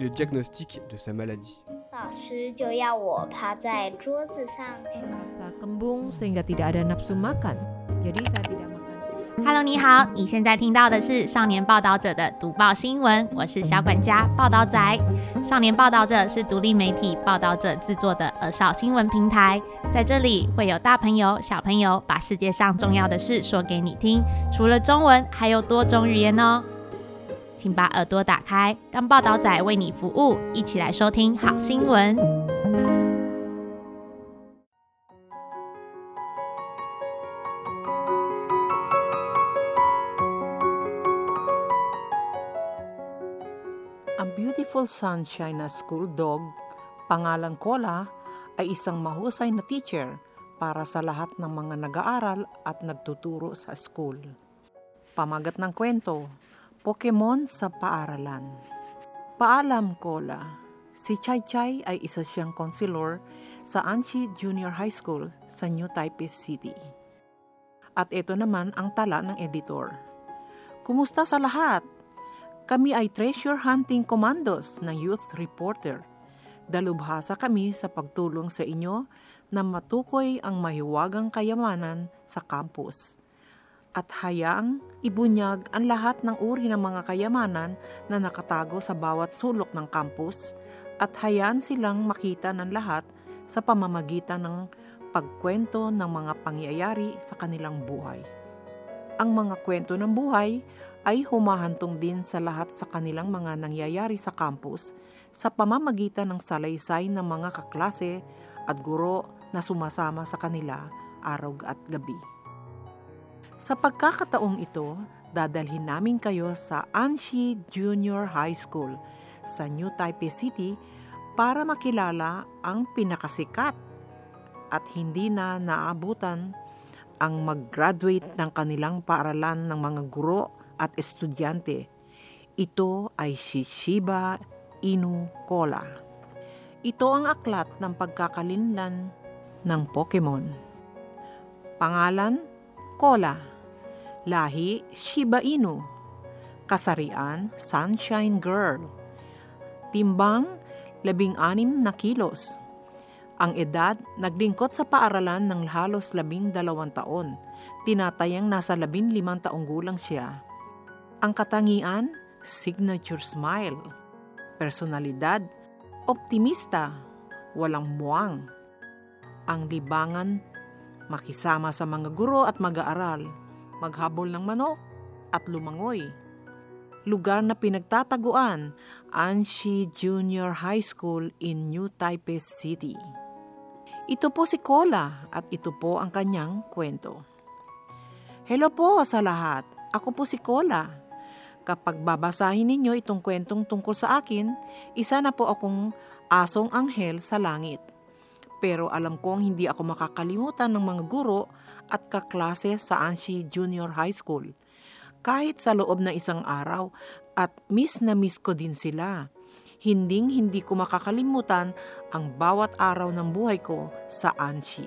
le diagnostic de sa maladie. 老師就要我趴在桌子上 Rasa kembung sehingga tidak ada nafsu makan. Jadi saya tidak makan siang. Hello， 你好，你現在聽到的是少年報導者的讀報新聞，我是小管家報導仔。少年報導者是獨立媒體報導者製作的兒少新聞平台，在這裡會有大朋友、小朋友把世界上重要的事說給你聽，除了中文，還有多種語言哦。請把耳朵打開，讓報導仔為你服務，一起來收聽好新聞。 Ang Beautiful Sunshine na school dog, pangalang Cola, ay isang mahusay na teacher para sa lahat ng mga nag-aaral at nagtuturo sa school. Pamagat ng kwento, Pokemon sa paaralan. Paalam, Cola. Si Chai Chai ay isa siyang konselor sa Anchi Junior High School sa New Taipei City. At ito naman ang tala ng editor. Kumusta sa lahat? Kami ay treasure hunting commandos ng Youth Reporter. Dalubhasa kami sa pagtulong sa inyo na matukoy ang mahiwagang kayamanan sa campus. At hayaang ibunyag ang lahat ng uri ng mga kayamanan na nakatago sa bawat sulok ng campus at hayaan silang makita ng lahat sa pamamagitan ng pagkwento ng mga pangyayari sa kanilang buhay. Ang mga kwento ng buhay ay humahantong din sa lahat sa kanilang mga nangyayari sa campus sa pamamagitan ng salaysay ng mga kaklase at guro na sumasama sa kanila araw at gabi. Sa pagkakataong ito, dadalhin namin kayo sa Anchi Junior High School sa New Taipei City para makilala ang pinakasikat at hindi na naabutan ang mag-graduate ng kanilang paaralan ng mga guro at estudyante. Ito ay si Shiba Inu Cola. Ito ang aklat ng pagkakalinlan ng Pokemon. Pangalan, Cola. Lahi, Shiba Inu. Kasarian, Sunshine Girl. Timbang, 16 na kilos. Ang edad, naglingkod sa paaralan ng halos 12 taon. Tinatayang nasa 15 taong gulang siya. Ang katangian, signature smile. Personalidad, optimista, walang muwang. Ang libangan, makisama sa mga guro at mag-aaral, maghabol ng manok at lumangoy. Lugar na pinagtataguan, Anchi Junior High School in New Taipei City. Ito po si Cola at ito po ang kanyang kwento. Hello po sa lahat, ako po si Cola. Kapag babasahin ninyo itong kwentong tungkol sa akin, isa na po akong asong anghel sa langit. Pero alam kong hindi ako makakalimutan ng mga guro at kaklase sa Anchi Junior High School. Kahit sa loob ng isang araw at miss na miss ko din sila. Hindi ko makakalimutan ang bawat araw ng buhay ko sa Anchi.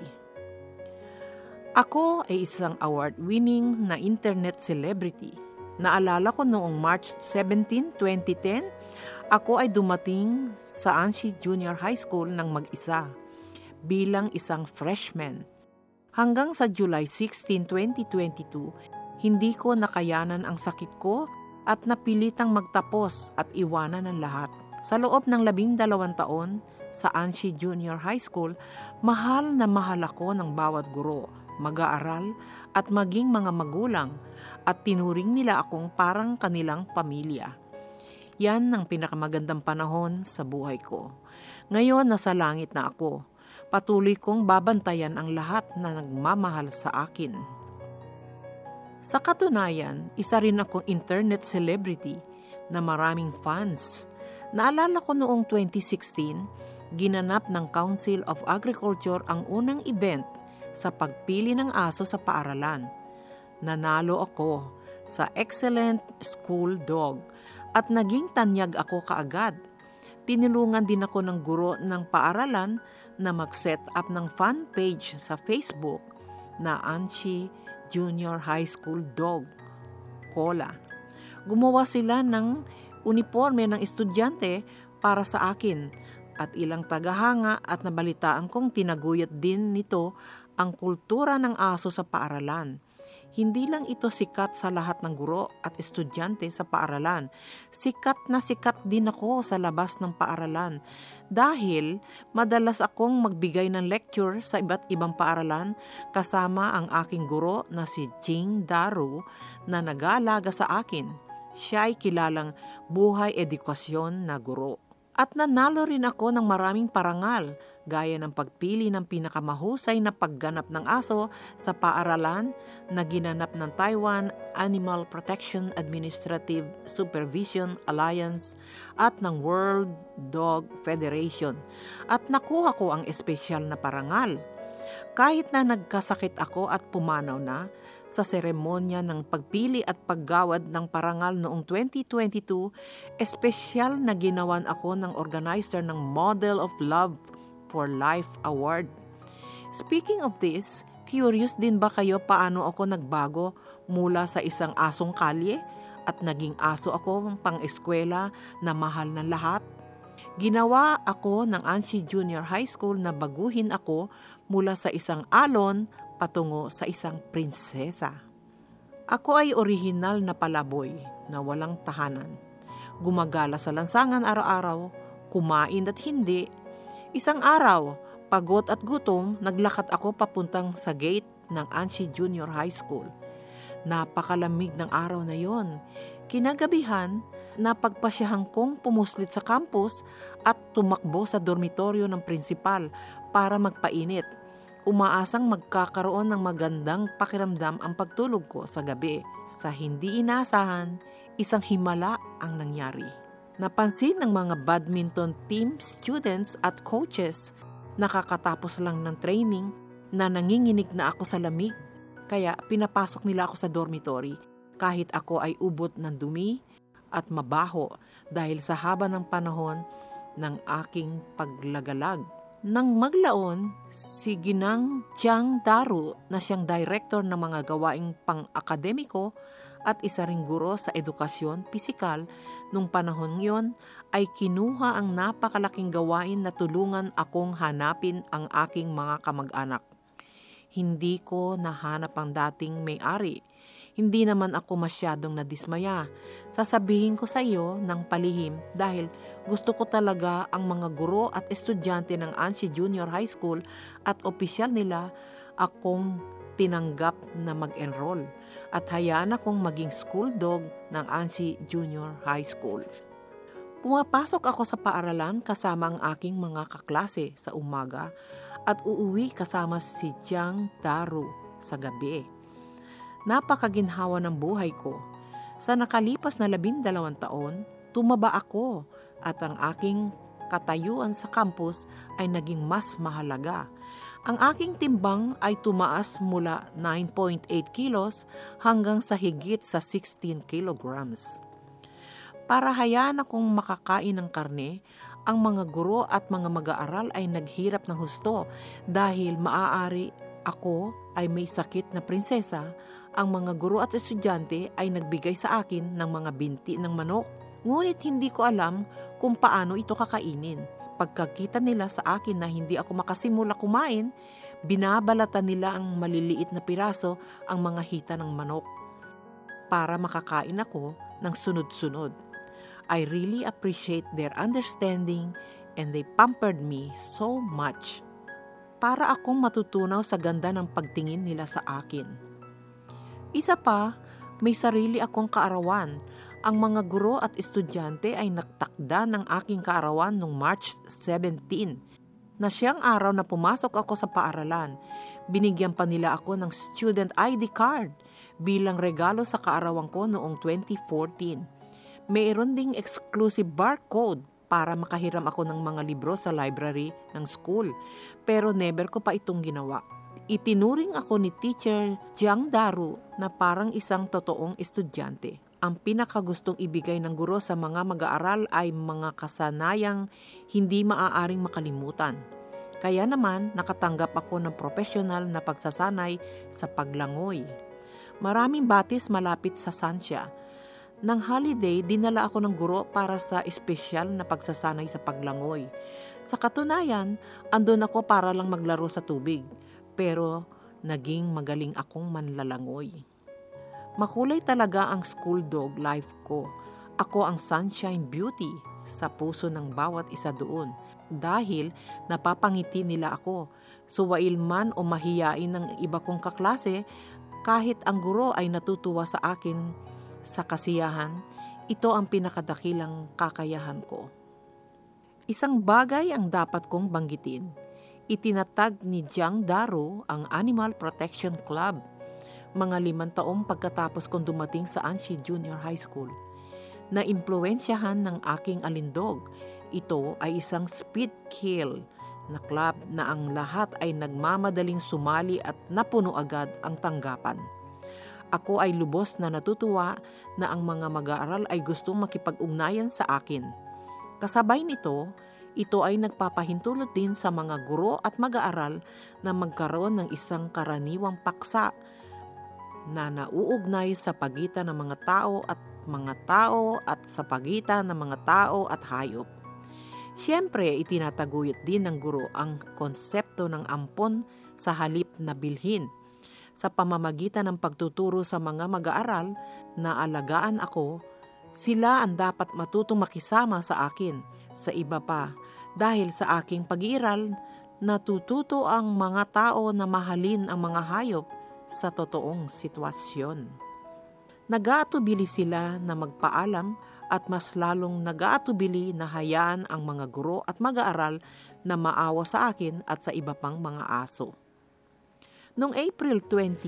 Ako ay isang award-winning na internet celebrity. Naalala ko noong March 17, 2010, ako ay dumating sa Anchi Junior High School ng mag-isa bilang isang freshman. Hanggang sa July 16, 2022, hindi ko nakayanan ang sakit ko at napilitang magtapos at iwanan ng lahat. Sa loob ng 12 taon sa Anchi Junior High School, mahal na mahal ako ng bawat guro, mag-aaral at maging mga magulang at tinuring nila akong parang kanilang pamilya. Yan ang pinakamagandang panahon sa buhay ko. Ngayon nasa langit na ako. Patuloy kong babantayan ang lahat na nagmamahal sa akin. Sa katunayan, isa rin akong internet celebrity na maraming fans. Naalala ko noong 2016, ginanap ng Council of Agriculture ang unang event sa pagpili ng aso sa paaralan. Nanalo ako sa Excellent School Dog at naging tanyag ako kaagad. Tinulungan din ako ng guro ng paaralan na mag-set up ng fan page sa Facebook na Anchi Junior High School Dog, Cola. Gumawa sila ng uniforme ng estudyante para sa akin at ilang tagahanga at nabalitaan kong tinaguyod din nito ang kultura ng aso sa paaralan. Hindi lang ito sikat sa lahat ng guro at estudyante sa paaralan. Sikat na sikat din ako sa labas ng paaralan dahil madalas akong magbigay ng lecture sa iba't ibang paaralan kasama ang aking guro na si Jing Daru na nag-aalaga sa akin. Siya ay kilalang buhay edukasyon na guro. At nanalo rin ako ng maraming parangal, gaya ng pagpili ng pinakamahusay na pagganap ng aso sa paaralan na ginanap ng Taiwan Animal Protection Administrative Supervision Alliance at ng World Dog Federation. At nakuha ko ang espesyal na parangal. Kahit na nagkasakit ako at pumanaw na, sa seremonya ng pagpili at paggawad ng parangal noong 2022, espesyal na ginawan ako ng organizer ng Model of Love for Life Award. Speaking of this, curious din ba kayo paano ako nagbago mula sa isang asong kalye at naging aso ako pang-eskwela na mahal ng lahat? Ginawa ako ng Ansi Junior High School na baguhin ako mula sa isang alon patungo sa isang prinsesa. Ako ay orihinal na palaboy na walang tahanan. Gumagala sa lansangan araw-araw, kumain at hindi. Isang araw, pagod at gutom, naglakad ako papuntang sa gate ng Ansi Junior High School. Napakalamig ng araw na yon. Kinagabihan, napagpasyahan kong pumuslit sa campus at tumakbo sa dormitoryo ng prinsipal para magpainit. Umaasang magkakaroon ng magandang pakiramdam ang pagtulog ko sa gabi. Sa hindi inaasahan, isang himala ang nangyari. Napansin ng mga badminton team students at coaches na kakatapos lang ng training na nanginginig na ako sa lamig. Kaya pinapasok nila ako sa dormitory kahit ako ay ubot ng dumi at mabaho dahil sa haba ng panahon ng aking paglagalag. Nang maglaon, si Ginang Jiang Daru na siyang director ng mga gawaing pang-akademiko at isa ring guro sa edukasyon pisikal nung panahon yon ay kinuha ang napakalaking gawain na tulungan akong hanapin ang aking mga kamag-anak. Hindi ko nahanap ang dating may-ari. Hindi naman ako masyadong nadismaya. Sasabihin ko sa iyo ng palihim dahil gusto ko talaga ang mga guro at estudyante ng Ansi Junior High School at opisyal nila akong tinanggap na mag-enroll at hayaan akong maging school dog ng Ansi Junior High School. Pumapasok ako sa paaralan kasama ang aking mga kaklase sa umaga at uuwi kasama si Jiang Daru sa gabi. Napakaginhawa ng buhay ko. Sa nakalipas na 12 taon, tumaba ako at ang aking katayuan sa campus ay naging mas mahalaga. Ang aking timbang ay tumaas mula 9.8 kilos hanggang sa higit sa 16 kilograms. Para hayaan akong makakain ng karne, ang mga guro at mga mag-aaral ay naghirap ng husto dahil maaari ako ay may sakit na prinsesa. Ang mga guro at estudyante ay nagbigay sa akin ng mga binti ng manok. Ngunit hindi ko alam kung paano ito kakainin. Pagkakita nila sa akin na hindi ako makasimula kumain, binabalatan nila ang maliliit na piraso ang mga hita ng manok para makakain ako ng sunod-sunod. I really appreciate their understanding and they pampered me so much. Para akong matutunaw sa ganda ng pagtingin nila sa akin. Isa pa, may sarili akong kaarawan. Ang mga guro at estudyante ay nagtakda ng aking kaarawan noong March 17, na siyang araw na pumasok ako sa paaralan. Binigyan pa nila ako ng student ID card bilang regalo sa kaarawan ko noong 2014. Mayroon ding exclusive barcode para makahiram ako ng mga libro sa library ng school, pero never ko pa itong ginawa. Itinuring ako ni Teacher Jiang Daru na parang isang totoong estudyante. Ang pinakagustong ibigay ng guro sa mga mag-aaral ay mga kasanayang hindi maaaring makalimutan. Kaya naman nakatanggap ako ng profesional na pagsasanay sa paglangoy. Maraming batis malapit sa Sansya. Nang holiday, dinala ako ng guro para sa espesyal na pagsasanay sa paglangoy. Sa katunayan, andun ako para lang maglaro sa tubig. Pero naging magaling akong manlalangoy. Makulay talaga ang school dog life ko. Ako ang sunshine beauty sa puso ng bawat isa doon. Dahil napapangiti nila ako. Suwail man o mahiyain ng iba kong kaklase, kahit ang guro ay natutuwa sa akin sa kasiyahan, ito ang pinakadakilang kakayahan ko. Isang bagay ang dapat kong banggitin. Itinatag ni Jiang Daro ang Animal Protection Club mga 5 taong pagkatapos kong dumating sa Anshi Junior High School. Na-impluwensyahan ng aking alindog. Ito ay isang speed kill na club na ang lahat ay nagmamadaling sumali at napuno agad ang tanggapan. Ako ay lubos na natutuwa na ang mga mag-aaral ay gustong makipag-ugnayan sa akin. Kasabay nito, ito ay nagpapahintulot din sa mga guro at mag-aaral na magkaroon ng isang karaniwang paksa na nauugnay sa pagitan ng mga tao at sa pagitan ng mga tao at hayop. Siyempre, itinataguyod din ng guro ang konsepto ng ampon sa halip na bilhin. Sa pamamagitan ng pagtuturo sa mga mag-aaral na alagaan ako, sila ang dapat matutong makisama sa akin. Sa iba pa, dahil sa aking pag-iiral, natututo ang mga tao na mahalin ang mga hayop sa totoong sitwasyon. Nag-aatubili sila na magpaalam at mas lalong nag-aatubili na hayaan ang mga guro at mag-aaral na maawa sa akin at sa iba pang mga aso. Noong April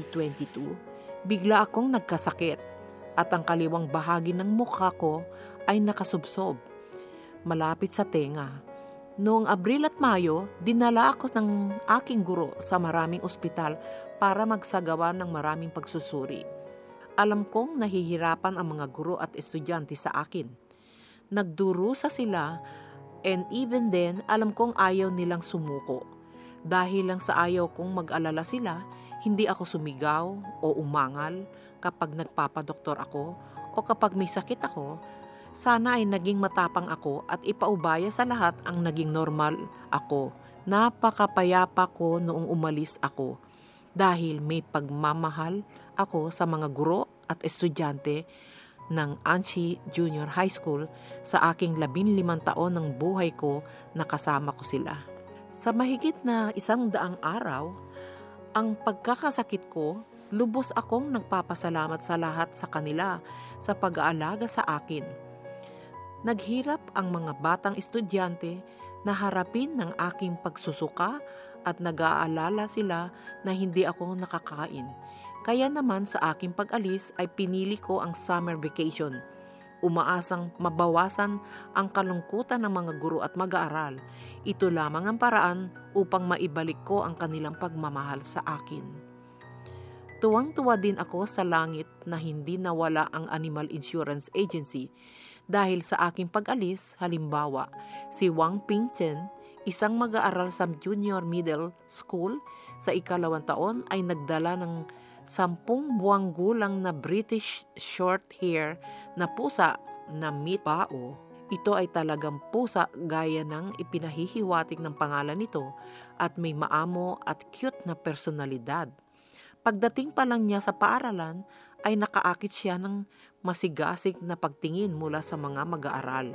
2022, bigla akong nagkasakit at ang kaliwang bahagi ng mukha ko ay nakasubsob, malapit sa tenga. Noong Abril at Mayo, dinala ako ng aking guro sa maraming ospital para magsagawa ng maraming pagsusuri. Alam kong nahihirapan ang mga guro at estudyante sa akin. Nagdurusa sila and even then, alam kong ayaw nilang sumuko. Dahil lang sa ayaw kong mag-alala sila, hindi ako sumigaw o umangal kapag nagpapadoktor ako o kapag may sakit ako. Sana ay naging matapang ako at ipaubaya sa lahat ang naging normal ako. Napakapayapa ko noong umalis ako dahil may pagmamahal ako sa mga guro at estudyante ng Anshi Junior High School sa aking 15 taon ng buhay ko na kasama ko sila. Sa mahigit na 100 araw, ang pagkakasakit ko, lubos akong nagpapasalamat sa lahat sa kanila sa pag-aalaga sa akin. Naghirap ang mga batang estudyante na harapin ng aking pagsusuka at nag-aalala sila na hindi ako nakakain. Kaya naman sa aking pag-alis ay pinili ko ang summer vacation. Umaasang mabawasan ang kalungkutan ng mga guro at mag-aaral. Ito lamang ang paraan upang maibalik ko ang kanilang pagmamahal sa akin. Tuwang-tuwa din ako sa langit na hindi nawala ang Animal Insurance Agency dahil sa aking pag-alis. Halimbawa, si Wang Pingchen, isang mag-aaral sa junior middle school sa 2nd taon ay nagdala ng 10 buwang gulang na British Shorthair na pusa na Meat Bao. Ito ay talagang pusa gaya ng ipinahihiwatig ng pangalan nito at may maamo at cute na personalidad. Pagdating pa lang niya sa paaralan ay nakaakit siya ng masigasig na pagtingin mula sa mga mag-aaral.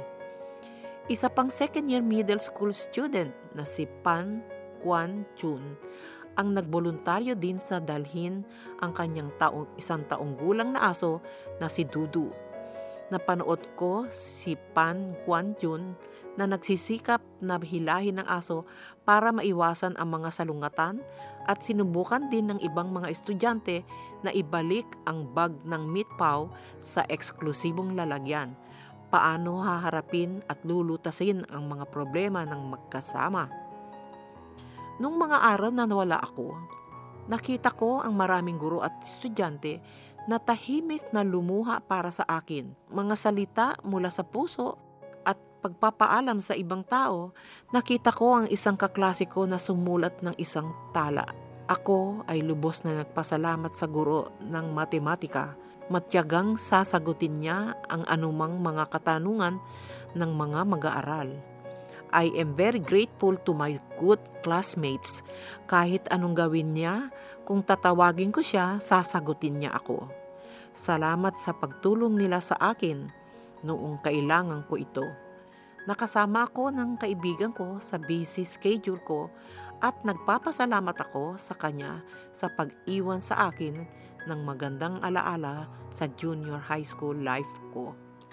Isa pang 2nd year middle school student na si Pan Quan Chun ang nagboluntaryo din sa dalhin ang kanyang 1 taong gulang na aso na si Dudu. Napanood ko si Pan Quan Chun na nagsisikap na hilahin ng aso para maiwasan ang mga salungatan at sinubukan din ng ibang mga estudyante na ibalik ang bag ng Meat Pao sa eksklusibong lalagyan. Paano haharapin at lulutasin ang mga problema ng magkasama? Nung mga araw na nawala ako, nakita ko ang maraming guro at estudyante na tahimik na lumuha para sa akin. Mga salita mula sa puso at pagpapaalam sa ibang tao. Nakita ko ang isang kaklase ko na sumulat ng isang tala. Ako ay lubos na nagpasalamat sa guro ng matematika Matyagang sasagutin niya ang anumang mga katanungan ng mga mag-aaral. I am very grateful to my good classmates. Kahit anong gawin niya, kung tatawagin ko siya, sasagutin niya ako. Salamat sa pagtulong nila sa akin noong kailangan ko ito. Nakasama ako ng kaibigan ko sa busy schedule ko at nagpapasalamat ako sa kanya sa pag-iwan sa akin ng magandang alaala sa junior high school life ko.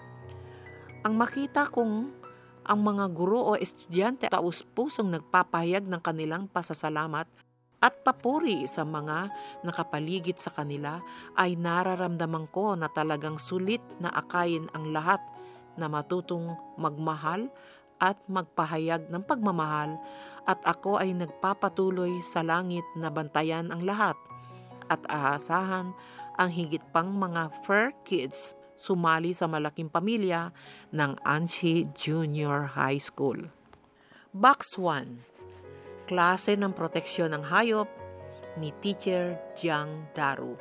Ang makita kong ang mga guro o estudyante taus-pusong nagpapahayag ng kanilang pasasalamat at papuri sa mga nakapaligid sa kanila ay nararamdaman ko na talagang sulit na akayin ang lahat na matutong magmahal at magpahayag ng pagmamahal at ako ay nagpapatuloy sa langit na bantayan ang lahat at aasahan ang higit pang mga fur kids sumali sa malaking pamilya ng Anchi Junior High School. Box 1. Klase ng proteksyon ng hayop ni Teacher Jiang Daru.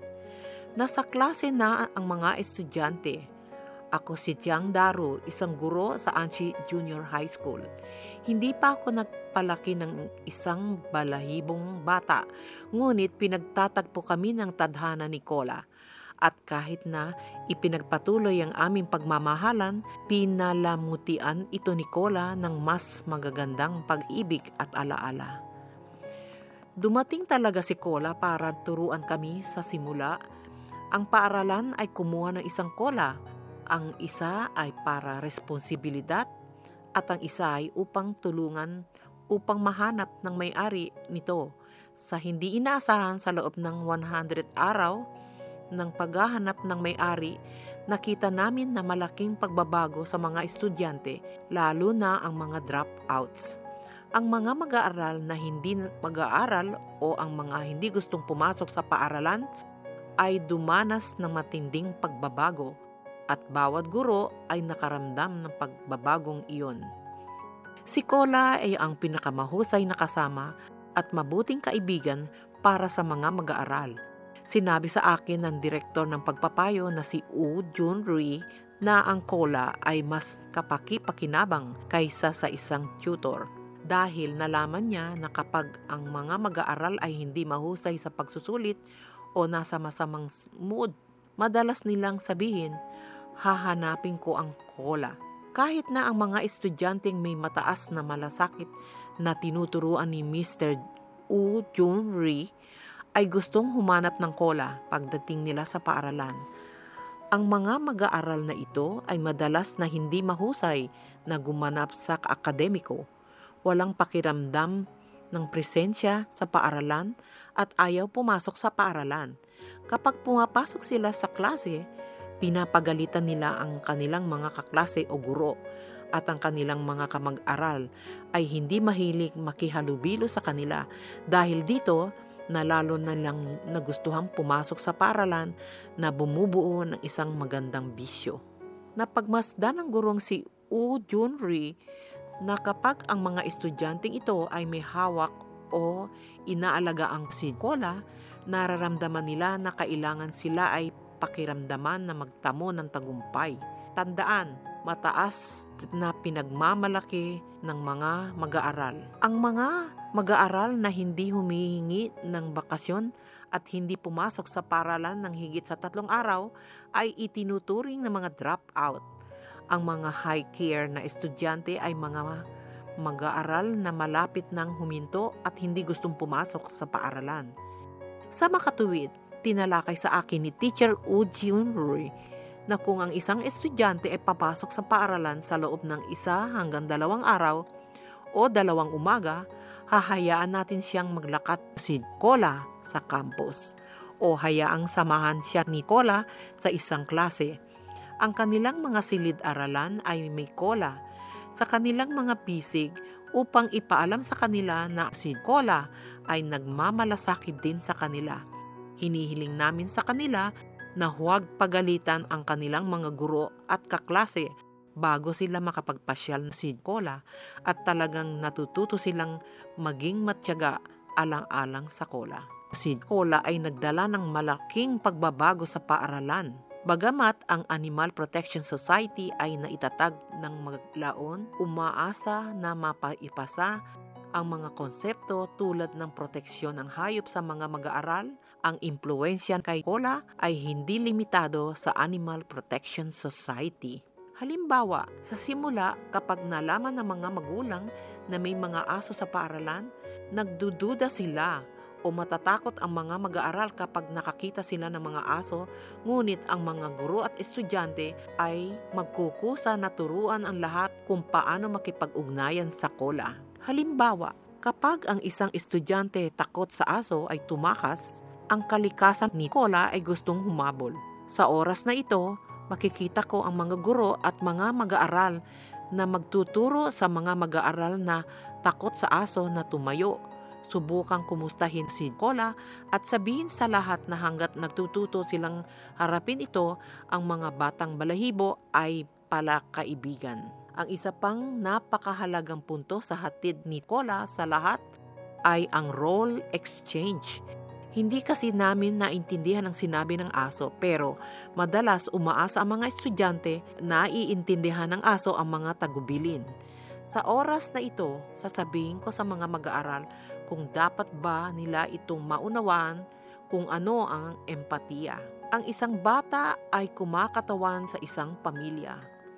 Nasa klase na ang mga estudyante. Ako si Jiang Daru, isang guro sa Anchi Junior High School. Hindi pa ako nagpalaki ng isang balahibong bata, ngunit pinagtatagpo kami ng tadhana ni Kola. At kahit na ipinagpatuloy ang aming pagmamahalan, pinalamutian ito ni Kola ng mas magagandang pag-ibig at alaala. Dumating talaga si Kola para turuan kami sa simula. Ang paaralan ay kumuha ng isang Kola. Ang isa ay para responsibilidad at ang isa ay upang tulungan upang mahanap ng may-ari nito. Sa hindi inaasahan sa loob ng 100 araw, ng paghahanap ng may-ari, nakita namin na malaking pagbabago sa mga estudyante, lalo na ang mga dropouts. Ang mga mag-aaral na hindi mag-aaral o ang mga hindi gustong pumasok sa paaralan ay dumanas ng matinding pagbabago at bawat guro ay nakaramdam ng pagbabagong iyon. Si Kola ay ang pinakamahusay na kasama at mabuting kaibigan para sa mga mag-aaral. Sinabi sa akin ng direktor ng pagpapayo na si Woo Jun-ri na ang Kola ay mas kapaki-pakinabang kaysa sa isang tutor. Dahil nalaman niya na kapag ang mga mag-aaral ay hindi mahusay sa pagsusulit o nasa masamang mood, madalas nilang sabihin, hahanapin ko ang Kola. Kahit na ang mga estudyanteng may mataas na malasakit na tinuturuan ni Mr. Woo Jun-ri ay gustong humanap ng Kola pagdating nila sa paaralan. Ang mga mag-aaral na ito ay madalas na hindi mahusay na gumanap sa akademiko, walang pakiramdam ng presensya sa paaralan at ayaw pumasok sa paaralan. Kapag pumapasok sila sa klase, pinapagalitan nila ang kanilang mga kaklase o guro at ang kanilang mga kamag-aral ay hindi mahilig makihalubilo sa kanila dahil dito na lalo na lang nagustuhang pumasok sa paaralan na bumubuo ng isang magandang bisyo. Napagmasdan ng gurong si Woo Jun-ri na kapag ang mga estudyanteng ito ay may hawak o inaalaga ang si Kola, nararamdaman nila na kailangan sila ay pakiramdaman na magtamo ng tagumpay. Tandaan, mataas na pinagmamalaki ng mga mag-aaral. Ang mga mag-aaral na hindi humihingi ng bakasyon at hindi pumasok sa paaralan ng higit sa 3 araw ay itinuturing ng mga dropout. Ang mga high care na estudyante ay mga mag-aaral na malapit nang huminto at hindi gustong pumasok sa paaralan. Sa makatuwid, tinalakay sa akin ni Teacher Woo Jun-ri na kung ang isang estudyante ay papasok sa paaralan sa loob ng 1 hanggang 2 araw o 2 umaga, hahayaan natin siyang maglakat si Kola sa campus o hayaang samahan siya ni Kola sa isang klase. Ang kanilang mga silid-aralan ay may Kola sa kanilang mga pisig upang ipaalam sa kanila na si Kola ay nagmamalasakit din sa kanila. Hinihiling namin sa kanila na huwag pagalitan ang kanilang mga guro at kaklase bago sila makapagpasyal si Kola at talagang natututo silang maging matyaga alang-alang sa Kola. Si Cola ay nagdala ng malaking pagbabago sa paaralan. Bagamat ang Animal Protection Society ay naitatag ng maglaon, umaasa na mapaipasa ang mga konsepto tulad ng proteksyon ng hayop sa mga mag-aaral. Ang impluwensya kay Cola ay hindi limitado sa Animal Protection Society. Halimbawa, sa simula kapag nalaman ng mga magulang na may mga aso sa paaralan, nagdududa sila o matatakot ang mga mag-aaral kapag nakakita sila ng mga aso, ngunit ang mga guro at estudyante ay magkukusa na turuan ang lahat kung paano makipag-ugnayan sa Cola. Halimbawa, kapag ang isang estudyante takot sa aso ay tumakas, ang kalikasan ni Cola ay gustong humabol. Sa oras na ito, makikita ko ang mga guro at mga mag-aaral na magtuturo sa mga mag-aaral na takot sa aso na tumayo. Subukang kumustahin si Cola at sabihin sa lahat na hanggat nagtututo silang harapin ito, ang mga batang balahibo ay pala kaibigan. Ang isa pang napakahalagang punto sa hatid ni Cola sa lahat ay ang role exchange. Hindi kasi namin naintindihan ang sinabi ng aso, pero madalas umaasa ang mga estudyante na iintindihan ng aso ang mga tagubilin. Sa oras na ito, sasabihin ko sa mga mag-aaral kung dapat ba nila itong maunawaan kung ano ang empatiya. Ang isang bata ay kumakatawan sa isang pamilya.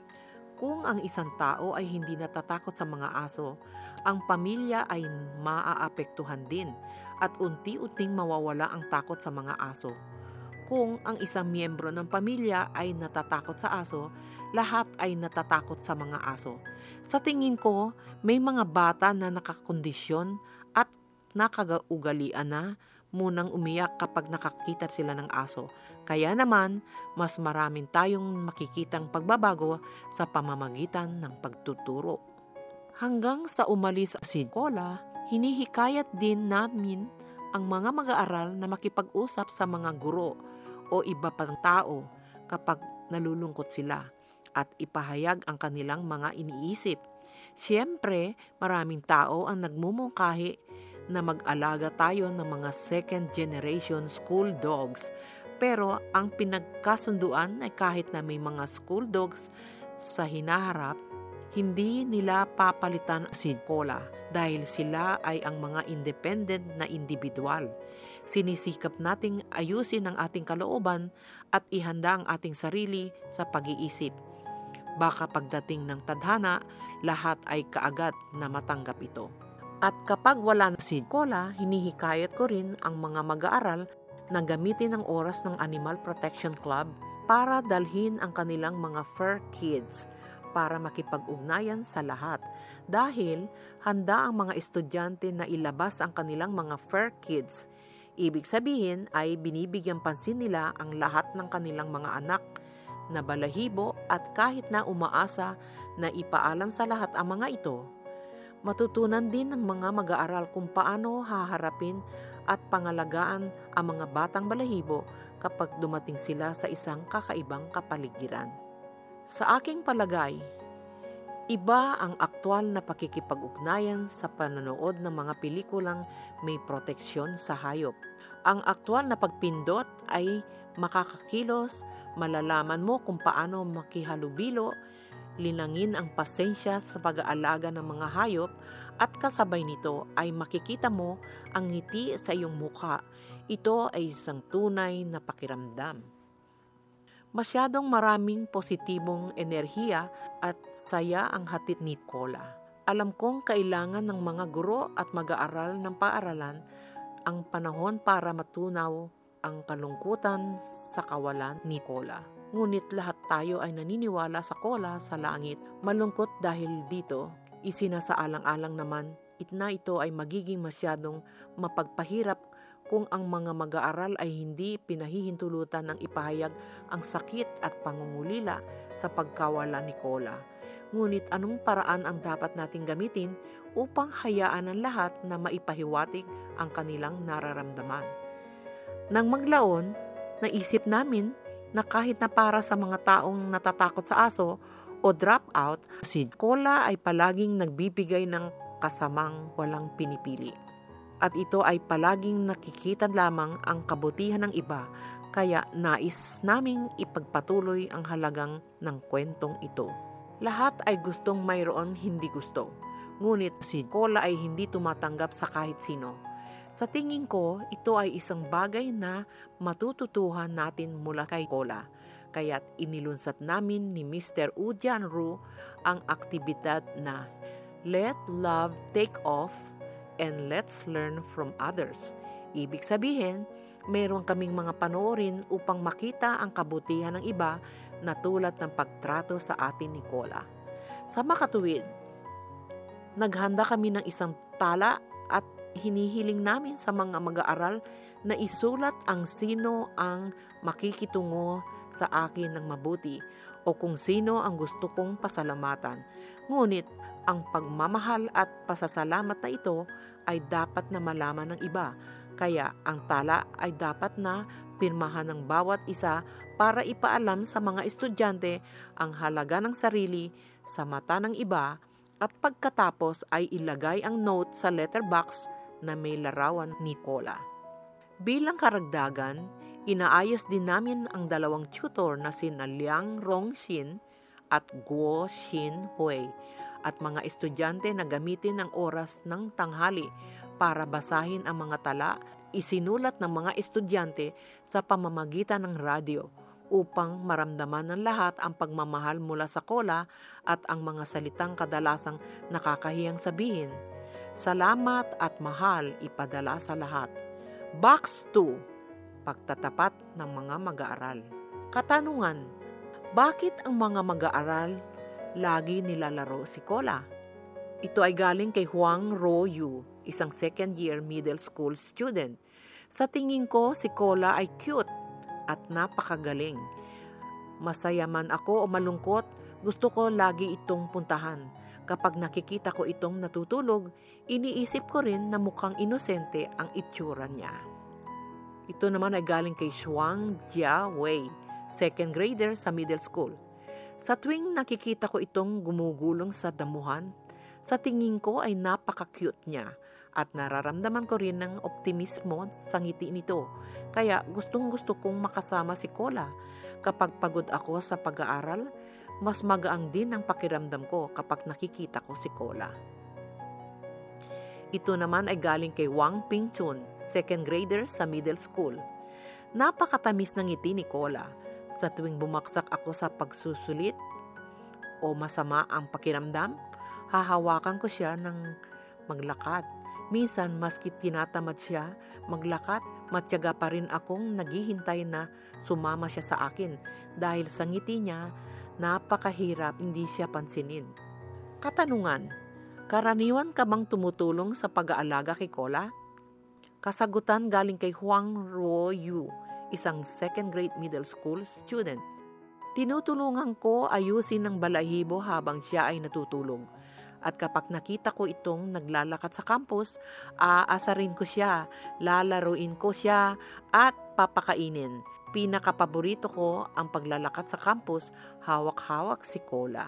Kung ang isang tao ay hindi natatakot sa mga aso, ang pamilya ay maaapektuhan din at unti-unting mawawala ang takot sa mga aso. Kung ang isang miyembro ng pamilya ay natatakot sa aso, lahat ay natatakot sa mga aso. Sa tingin ko, may mga bata na nakakondisyon at nakagaugalian na munang umiyak kapag nakakita sila ng aso. Kaya naman, mas maraming tayong makikitang pagbabago sa pamamagitan ng pagtuturo. Hanggang sa umalis si Cola, hinihikayat din namin ang mga mag-aaral na makipag-usap sa mga guro o iba pang tao kapag nalulungkot sila at ipahayag ang kanilang mga iniisip. Siyempre, maraming tao ang nagmumungkahi na mag-alaga tayo ng mga second generation school dogs. Pero ang pinagkasunduan ay kahit na may mga school dogs sa hinaharap, hindi nila papalitan si Cola dahil sila ay ang mga independent na individual. Sinisikap nating ayusin ang ating kalooban at ihanda ang ating sarili sa pag-iisip. Baka pagdating ng tadhana, lahat ay kaagad na matanggap ito. At kapag wala na si Cola, hinihikayat ko rin ang mga mag-aaral na gamitin ang oras ng Animal Protection Club para dalhin ang kanilang mga fur kids para makipag-ugnayan sa lahat. Dahil handa ang mga estudyante na ilabas ang kanilang mga fur kids. Ibig sabihin ay binibigyan pansin nila ang lahat ng kanilang mga anak na balahibo at kahit na umaasa na ipaalam sa lahat ang mga ito, matutunan din ng mga mag-aaral kung paano haharapin at pangalagaan ang mga batang balahibo kapag dumating sila sa isang kakaibang kapaligiran. Sa aking palagay, iba ang aktwal na pakikipag-ugnayan sa panonood ng mga pelikulang may proteksyon sa hayop. Ang aktwal na pagpindot ay makakakilos, malalaman mo kung paano makihalubilo, linangin ang pasensya sa pag-aalaga ng mga hayop at kasabay nito ay makikita mo ang ngiti sa iyong mukha. Ito ay isang tunay na pakiramdam. Masyadong maraming positibong enerhiya at saya ang hatid ni Cola. Alam kong kailangan ng mga guro at mag-aaral ng paaralan ang panahon para matunaw ang kalungkutan sa kawalan ni Cola. Ngunit lahat tayo ay naniniwala sa Cola sa langit. Malungkot dahil dito, isinasaalang-alang naman na ito ay magiging masyadong mapagpahirap kung ang mga mag-aaral ay hindi pinahihintulutan ng ipahayag ang sakit at pangungulila sa pagkawala ni Cola. Ngunit anong paraan ang dapat nating gamitin upang hayaan ang lahat na maipahiwatig ang kanilang nararamdaman? Nang maglaon, naisip namin na kahit na para sa mga taong natatakot sa aso o drop out, si Cola ay palaging nagbibigay ng kasamang walang pinipili. at ito ay palaging nakikita lamang ang kabutihan ng iba, kaya nais naming ipagpatuloy ang halagang ng kwentong ito. Lahat ay gustong mayroon hindi gusto, ngunit si Cola ay hindi tumatanggap sa kahit sino. Sa tingin ko, ito ay isang bagay na matututuhan natin mula kay Cola. Kaya't inilunsad namin ni Mr. Ujian Ru ang aktibidad na Let Love Take Off and Let's Learn from Others. Ibig sabihin, mayroon kaming mga panoorin upang makita ang kabutihan ng iba na tulad ng pagtrato sa atin ni Cola. Sa makatuwid, naghanda kami ng isang tala at hinihiling namin sa mga mag-aaral na isulat ang sino ang makikitungo sa akin ng mabuti o kung sino ang gusto kong pasalamatan. Ngunit ang pagmamahal at pasasalamat na ito ay dapat na malaman ng iba. Kaya ang tala ay dapat na pirmahan ng bawat isa para ipaalam sa mga estudyante ang halaga ng sarili sa mata ng iba at pagkatapos ay ilagay ang note sa letterbox na may larawan ni Cola. Bilang karagdagan, inaayos din namin ang dalawang tutor na sina Liang Rongxin at Guo Xin Hui at mga estudyante na gamitin ang oras ng tanghali para basahin ang mga tala isinulat ng mga estudyante sa pamamagitan ng radyo upang maramdaman ng lahat ang pagmamahal mula sa Cola at ang mga salitang kadalasang nakakahiyang sabihin. Salamat at mahal ipadala sa lahat. Box 2. Pagtatapat ng mga mag-aaral. Katanungan, bakit ang mga mag-aaral lagi nilalaro si Cola? Ito ay galing kay Huang Ruoyu, isang second-year middle school student. Sa tingin ko, si Cola ay cute at napakagaling. Masaya man ako o malungkot, gusto ko lagi itong puntahan. Kapag nakikita ko itong natutulog, iniisip ko rin na mukhang inosente ang itsura niya. Ito naman ay galing kay Shuang Jia Wei, second grader sa middle school. Sa tuwing nakikita ko itong gumugulong sa damuhan, sa tingin ko ay napaka-cute niya at nararamdaman ko rin ng optimismo sa ngiti nito. Kaya gustong-gusto kong makasama si Cola. Kapag pagod ako sa pag-aaral, mas magaang din ang pakiramdam ko kapag nakikita ko si Cola. Ito naman ay galing kay Wang Pingchun, second grader sa middle school. Napakatamis ng ngiti ni Cola. Sa tuwing bumaksak ako sa pagsusulit o masama ang pakiramdam, hahawakan ko siya ng maglakad. Minsan, maski tinatamad siya maglakad, matyaga pa rin akong naghihintay na sumama siya sa akin dahil sa ngiti niya, napakahirap hindi siya pansinin. Katanungan, karaniwan ka bang tumutulong sa pag-aalaga kay Cola? Kasagutan galing kay Huang Ruoyu, isang second grade middle school student. Tinutulungan ko ayusin ng balahibo habang siya ay natutulog. At kapag nakita ko itong naglalakad sa campus, aasarin ko siya, lalaruin ko siya, at papakainin. Pinakapaborito ko ang paglalakad sa campus, hawak-hawak si Cola.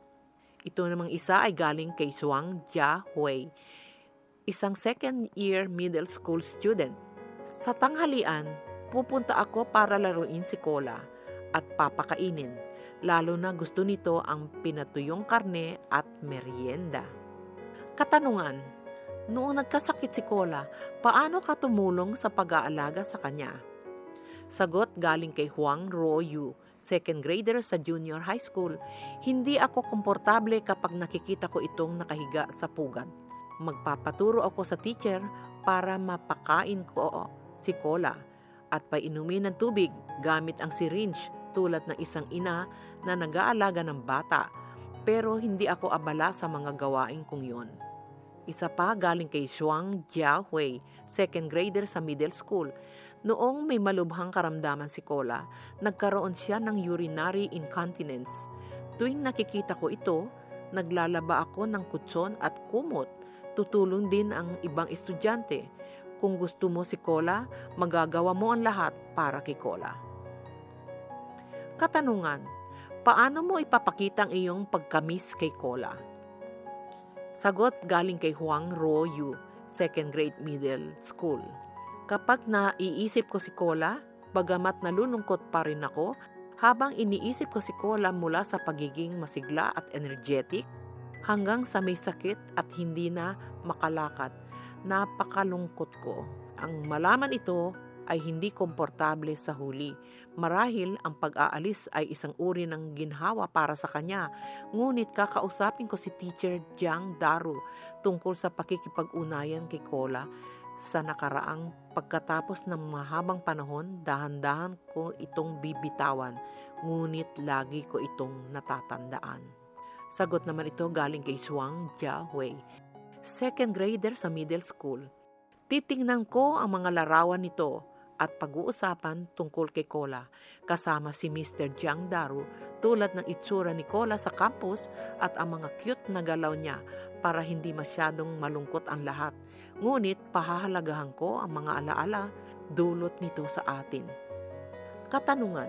Ito namang isa ay galing kay Shuang Jia Hui, isang second-year middle school student. Sa tanghalian, pupunta ako para laruin si Cola at papakainin. Lalo na gusto nito ang pinatuyong karne at merienda. Katanungan, noong nagkasakit si Cola, paano ka tumulong sa pag-aalaga sa kanya? Sagot galing kay Huang Ruoyu, second grader sa junior high school. Hindi ako komportable kapag nakikita ko itong nakahiga sa pugad. Magpapaturo ako sa teacher para mapakain ko si Cola at painumin ng tubig gamit ang syringe tulad ng isang ina na nag-aalaga ng bata, pero hindi ako abala sa mga gawain kong yon. Isa pa galing kay Shuang Jia Hui, second grader sa middle school. Noong may malubhang karamdaman si Cola, nagkaroon siya ng urinary incontinence. Tuwing nakikita ko ito, naglalaba ako ng kutson at kumot. Tutulong din ang ibang estudyante. Kung gusto mo si Cola, magagawa mo ang lahat para kay Cola. Katanungan, paano mo ipapakita ang iyong pagkamis kay Cola? Sagot galing kay Huang Ruoyu, second grade middle school. Kapag naiisip ko si Cola, bagamat nalulungkot pa rin ako, habang iniisip ko si Cola mula sa pagiging masigla at energetic, hanggang sa may sakit at hindi na makalakad, napakalungkot ko. Ang malaman ito ay hindi komportable sa huli. Marahil ang pag-aalis ay isang uri ng ginhawa para sa kanya. Ngunit kakausapin ko si Teacher Jiang Daru tungkol sa pakikipag-unayan kay Cola sa nakaraang pagkatapos ng mahabang panahon. Dahan-dahan ko itong bibitawan, ngunit lagi ko itong natatandaan. Sagot naman ito galing kay Shuang Jiahui, second grader sa middle school. Titingnan ko ang mga larawan nito at pag-uusapan tungkol kay Cola kasama si Mr. Jiang Daru tulad ng itsura ni Cola sa campus at ang mga cute na galaw niya para hindi masyadong malungkot ang lahat. Ngunit pahahalagahan ko ang mga alaala dulot nito sa atin. Katanungan: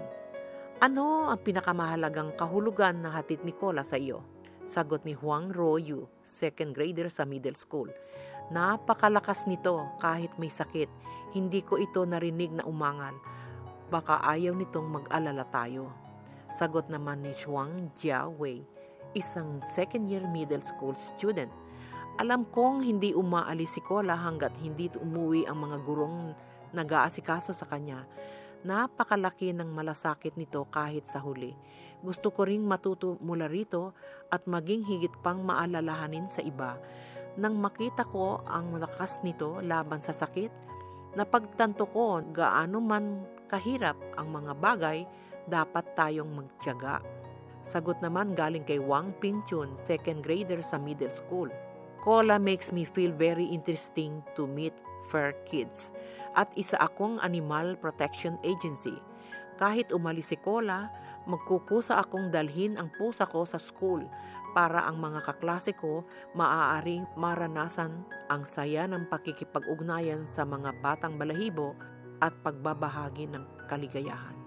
ano ang pinakamahalagang kahulugan na hatid ni Cola sa iyo? Sagot ni Huang Royu, second grader sa middle school. Napakalakas nito kahit may sakit. Hindi ko ito narinig na umangal. Baka ayaw nitong mag-alala tayo. Sagot naman ni Shuang Jiahui, isang second year middle school student. Alam kong hindi umaalis si Cola hanggat hindi umuwi ang mga gurong nag-aasikaso sa kanya. Napakalaki ng malasakit nito kahit sa huli. Gusto ko ring matuto mula rito at maging higit pang maalalahanin sa iba. Nang makita ko ang lakas nito laban sa sakit, napagtanto ko gaano man kahirap ang mga bagay, dapat tayong magtiyaga. Sagot naman galing kay Wang Pingchun, second grader sa middle school. Cola makes me feel very interesting to meet fur kids. At isa akong animal protection agency. Kahit umalis si Cola, magkukusa akong dalhin ang pusa ko sa school para ang mga kaklase ko maaaring maranasan ang saya ng pakikipag-ugnayan sa mga batang balahibo at pagbabahagi ng kaligayahan.